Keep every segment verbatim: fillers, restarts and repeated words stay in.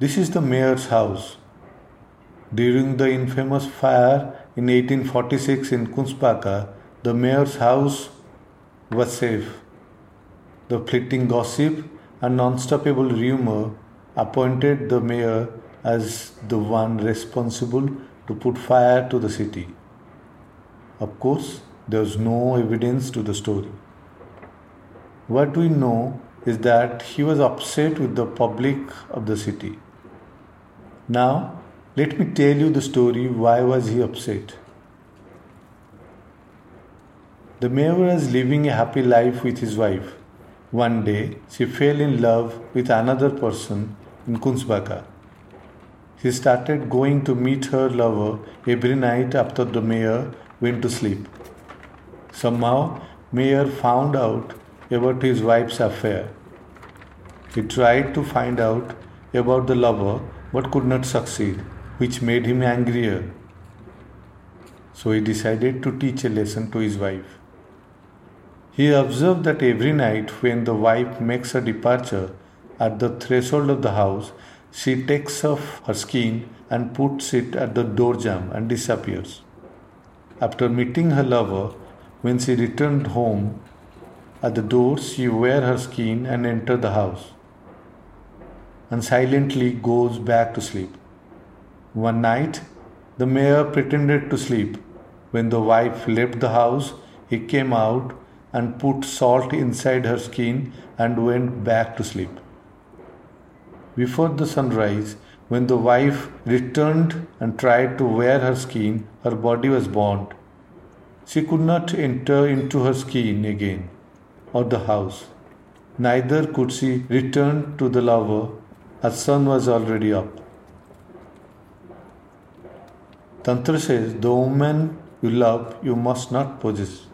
This is the mayor's house. During the infamous fire in eighteen forty-six in Kungsbacka, the mayor's house was safe. The fleeting gossip and unstoppable rumor appointed the mayor as the one responsible to put fire to the city. Of course, there was no evidence to the story. What we know is that he was upset with the public of the city. Now, let me tell you the story. Why was he upset? The mayor was living a happy life with his wife. One day, she fell in love with another person in Kungsbacka. She started going to meet her lover every night after the mayor went to sleep. Somehow, mayor found out about his wife's affair. He tried to find out about the lover but could not succeed, which made him angrier. So he decided to teach a lesson to his wife. He observed that every night when the wife makes her departure at the threshold of the house, she takes off her skin and puts it at the door jamb and disappears. After meeting her lover, when she returned home, at the door she wears her skin and enters the house and silently goes back to sleep. One night, the mayor pretended to sleep. When the wife left the house, he came out and put salt inside her skin and went back to sleep. Before the sunrise, when the wife returned and tried to wear her skin, her body was burnt. She could not enter into her skin again or the house. Neither could she return to the lover, as sun was already up. Tantra says, the woman you love, you must not possess.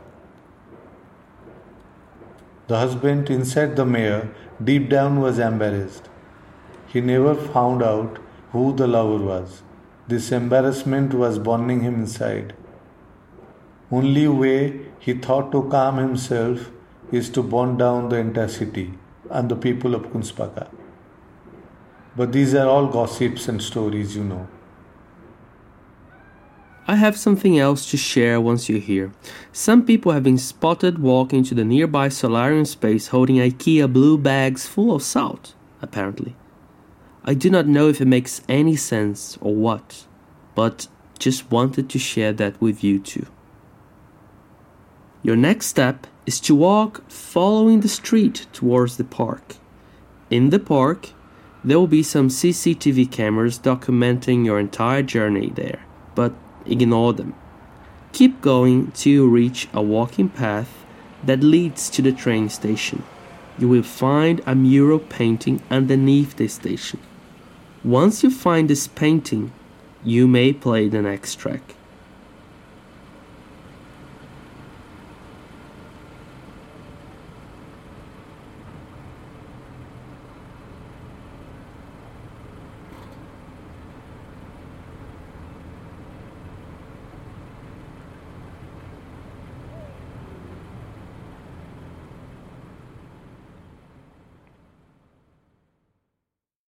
The husband inside the mayor deep down was embarrassed. He never found out who the lover was. This embarrassment was burning him inside. Only way he thought to calm himself is to burn down the entire city and the people of Kungsbacka. But these are all gossips and stories, you know. I have something else to share once you're here. Some people have been spotted walking to the nearby solarium space holding IKEA blue bags full of salt, apparently. I do not know if it makes any sense or what, but just wanted to share that with you too. Your next step is to walk following the street towards the park. In the park, there will be some C C T V cameras documenting your entire journey there, but ignore them. Keep going till you reach a walking path that leads to the train station. You will find a mural painting underneath the station. Once you find this painting, you may play the next track.